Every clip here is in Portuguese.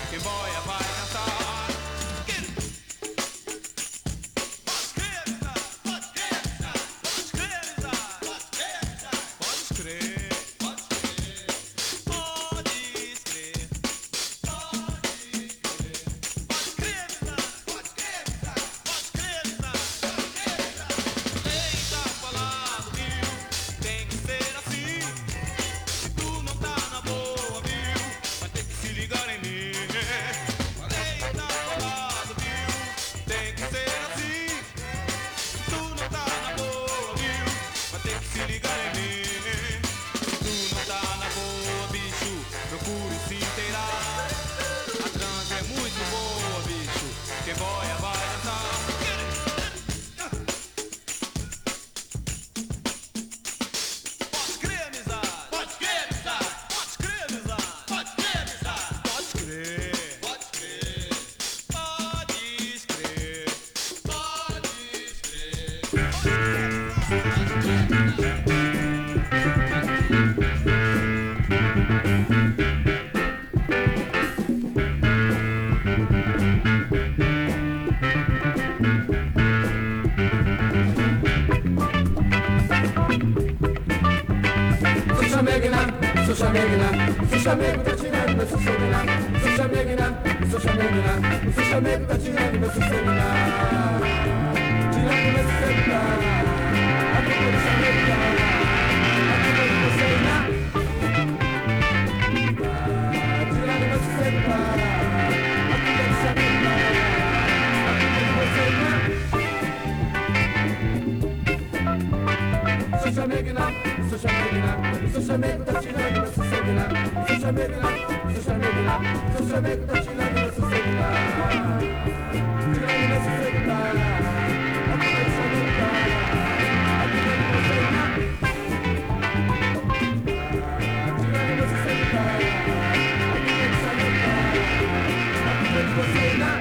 quem boia vai cantar. Pode crer, pode crer, pode crer, pode crer, pode crer, pode crer, lei tá falando, viu? Tem que ser assim. Se tu não tá na boa, viu? Vai ter que se ligar em mim. Lei tá falando, viu? Tem que ser assim. Se tu não tá na boa, viu? Vai ter que se ligar em mim. Se tu não tá na boa, bicho, procure se inteirar. A transa é muito boa, bicho. Quem boia vai dançar. Pode crer, amizade. Pode crer, amizade. Pode crer, amizade. Pode crer, amizade. Pode crer. Pode crer. Pode crer. Pode Sou chamegna, sou chamego, tá tirando meu sossego lá. Sou chamegna, sou chamego, tá tirando meu sossego lá. Tirando meu sossego lá. A culpa do chamego lá. A culpa de você lá. Tirando meu sossego lá. A culpa do chamego lá. A culpa de você lá. Sou chamegna, sou chamego, tá tirando meu sossego lá. Sou chamego, tá tirando meu sossego lá. Tirando meu sossego lá. A culpa do chamego lá. A culpa de você lá. Tirando meu sossego lá. A culpa do chamego lá. A culpa de você lá.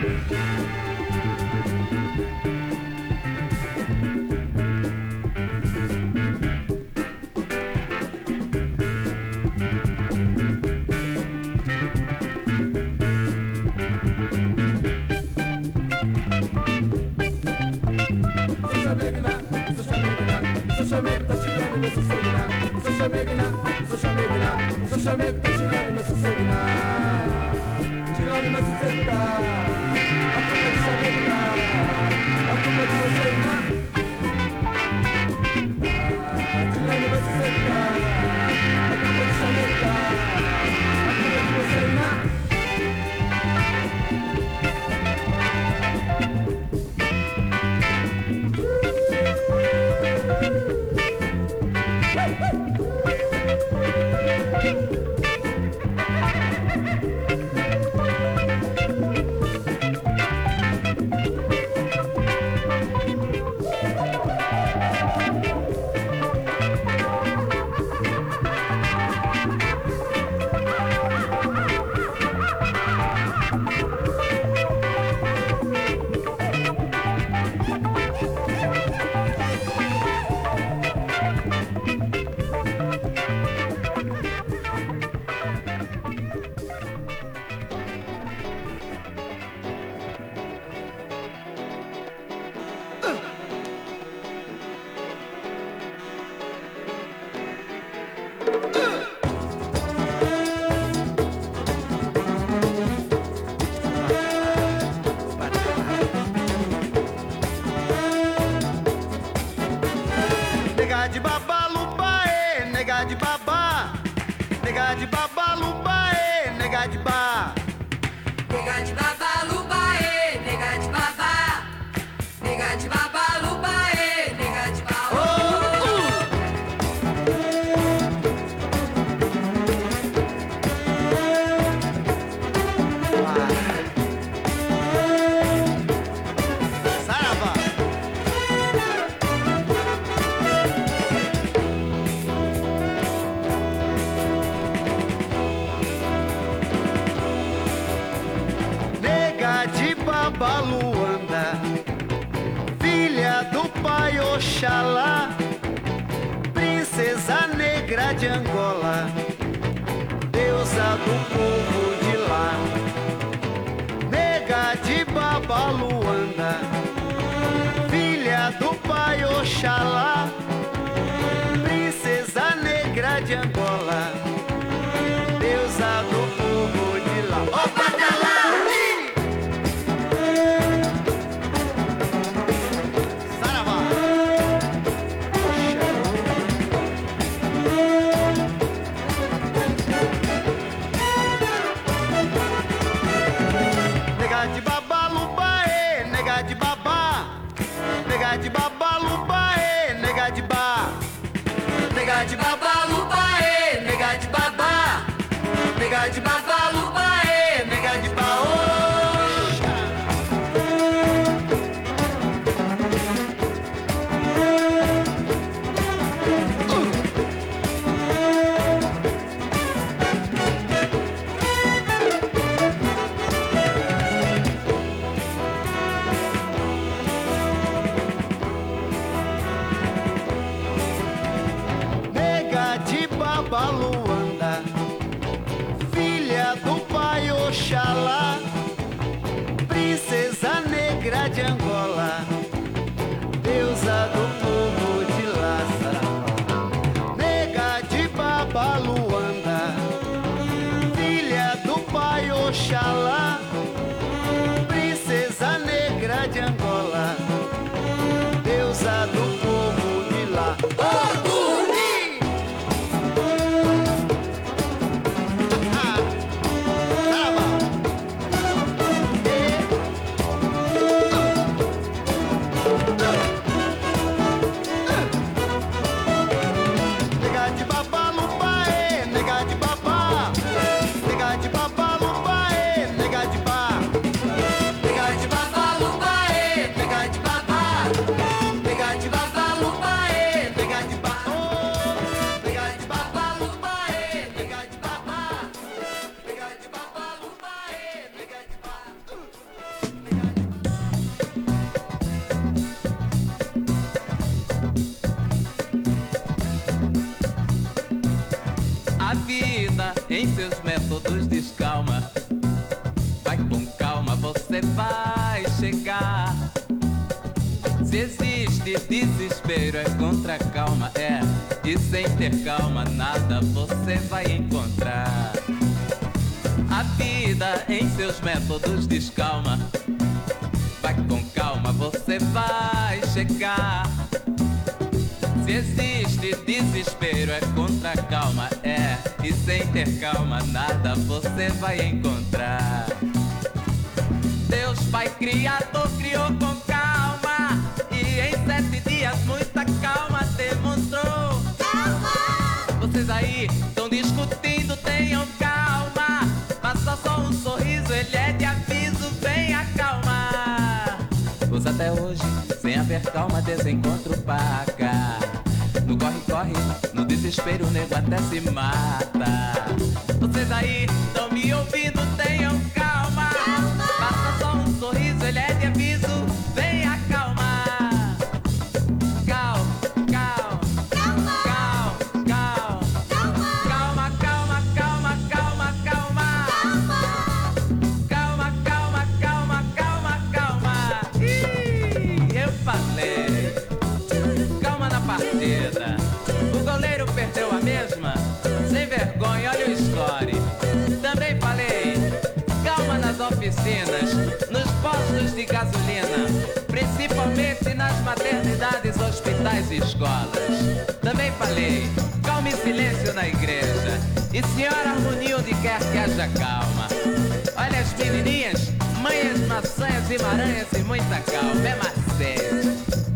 Sou chamego, tá tirando meu sossego lá. Sou chamego, tá tirando meu sossego lá. Tirando meu sossego lá. A culpa de chamego lá. A culpa de você lá. Tirando meu sossego lá. A culpa de chamego lá. A culpa de você lá. Nega de babaluba, nega de babá. Nega de babaluba, nega de ba. Nega de babaluba, nega de babá. Nega de babaluba, nega de babá. Saravá. Nega de Babaluanda, filha do pai Oxalá, princesa negra de Angola, deusa do povo de lá. Oxalá, princesa negra de Angola, deusa do povo de lá, saravá. Nega de Baba Luanda, filha do pai Oxalá, princesa negra de Angola, deusa do povo de lá. Em seus métodos descalma, vai com calma, você vai chegar. Se existe desespero é contra a calma, é. E sem ter calma nada você vai encontrar. A vida em seus métodos descalma, vai com calma, você vai chegar. Se existe desespero é contra a calma, é. E sem ter calma nada você vai encontrar. Deus Pai Criador criou com calma, e em 7 dias muita calma demonstrou. Calma! Vocês aí estão discutindo, tenham calma. Faça só um sorriso, ele é de aviso, venha calma. Pois até hoje, sem haver calma, desencontro paga. No corre-corre, no desespero, o nego até se mata. Vocês aí estão me ouvindo, tenham calma. Faça só um sorriso, ele é de aviso, venha calma. Calma, calma, calma, calma, calma, calma, calma, calma, calma, calma, calma, calma, calma. Ih, eu falei. Calma na partida. O goleiro perdeu a mesma. Sem vergonha, olha o score. Também falei. Calma nas oficinas, nos postos de gasolina, principalmente nas maternidades, hospitais e escolas. Também falei. Calma e silêncio na igreja. E senhora harmonia onde quer que haja calma. Olha as menininhas, manhas, maçanhas e maranhas e muita calma. É macete.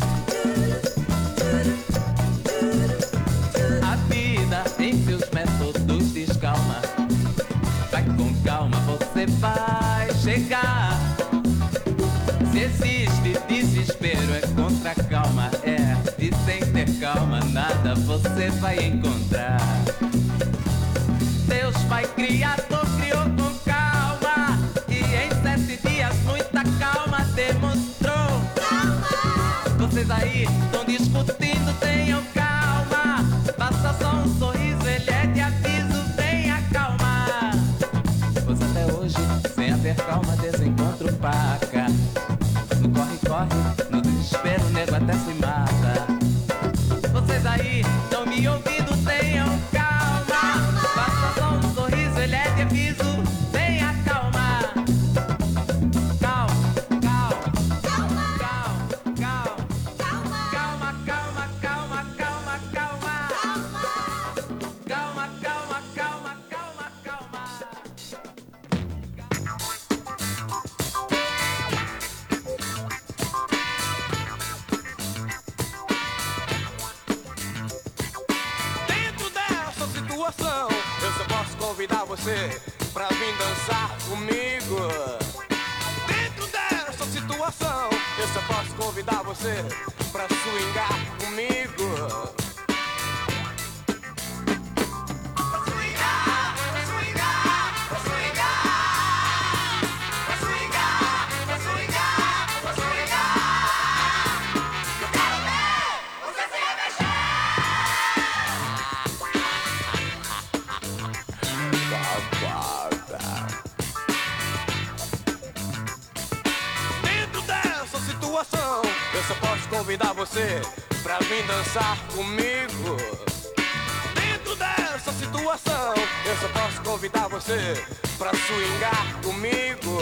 A vida em seus métodos descalma, vai com calma, você vai chegar. Se existe desespero é contra a calma, é. E sem ter calma nada você vai encontrar. Deus Pai Criador criou com calma, e em 7 dias muita calma demonstrou. Calma! Vocês aí estão discutindo, tenham calma. Faça só um sorriso, ele é de aviso, venha calma. Pois até hoje, sem haver calma, desencontro paca. No corre-corre, no desespero, o nego até se mata. Vocês aí estão me ouvindo, tenham calma. Faça só um sorriso, ele é de aviso, venha calma. Calma, calma, calma, calma, calma, calma, calma, calma, calma, calma, calma, calma, calma, calma. Dentro dessa situação, eu só posso convidar você pra vir dançar comigo. Dentro dessa situação, eu só posso convidar você pra swingar comigo. convidar você pra vir dançar comigo. Dentro dessa situação, eu só posso convidar você pra swingar comigo.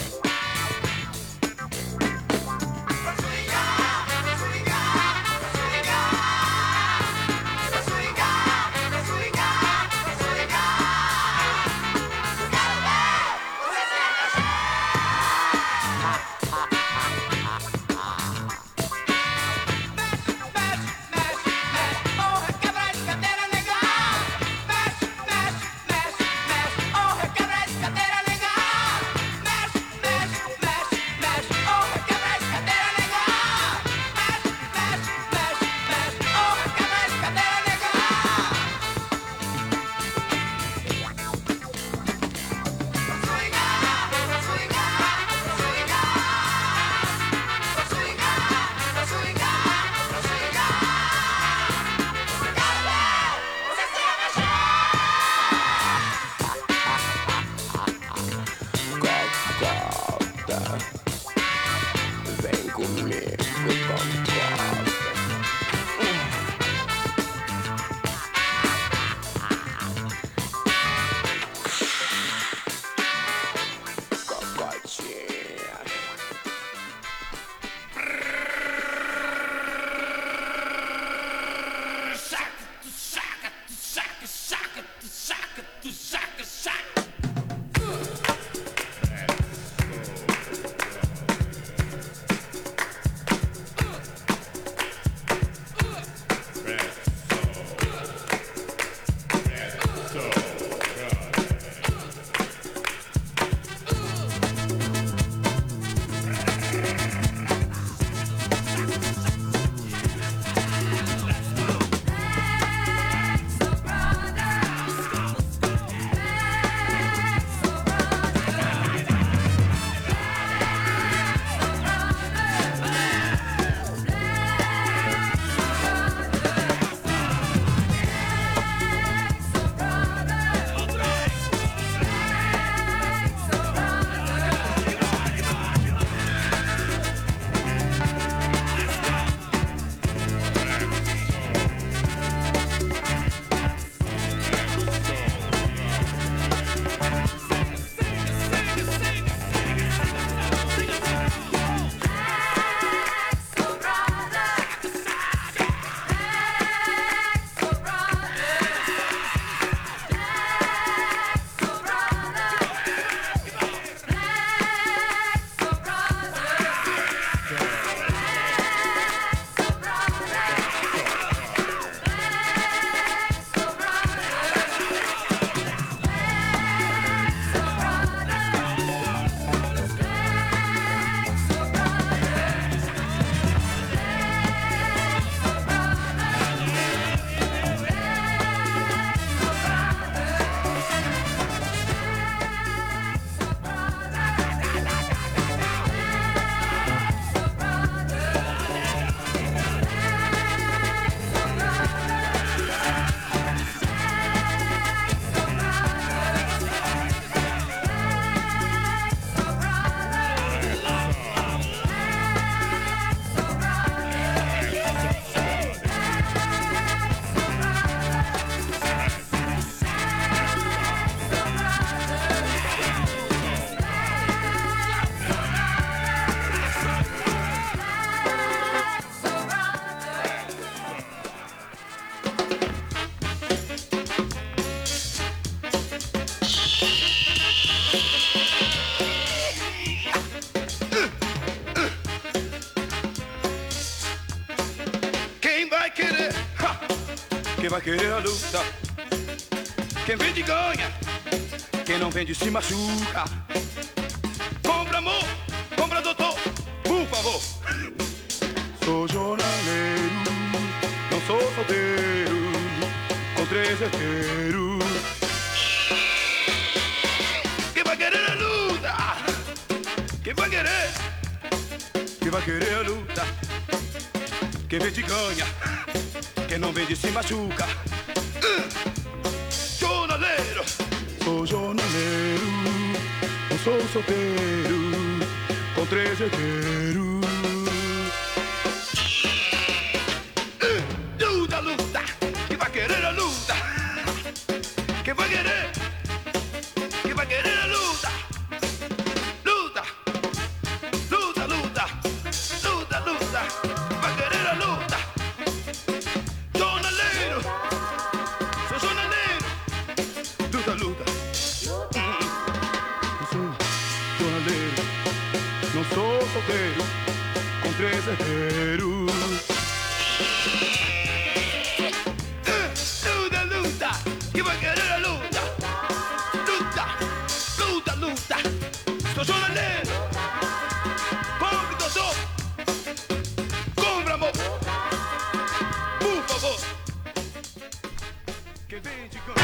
Quem vai querer a luta? Quem vende ganha, quem não vende se machuca. Compra amor, compra doutor, por favor. Sou jornaleiro, não sou solteiro, com 3 herdeiros. Quem vai querer a luta? Quem vai querer? Quem vai querer a luta? Quem vende ganha, quem não vende se machuca. Jornaleiro, sou jornaleiro, não sou solteiro, com 3 herdeiros. vaqueiro. Luta, luta, que vaqueiro é luta. Luta, luta, luta. Estou jornaleiro. Compre, doutor. Compre, amor. Por favor. Quem vende ganha.